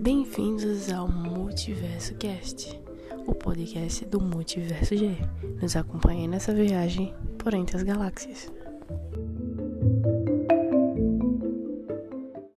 Bem-vindos ao Multiverso Cast, o podcast do Multiverso G. Nos acompanhe nessa viagem por entre as galáxias.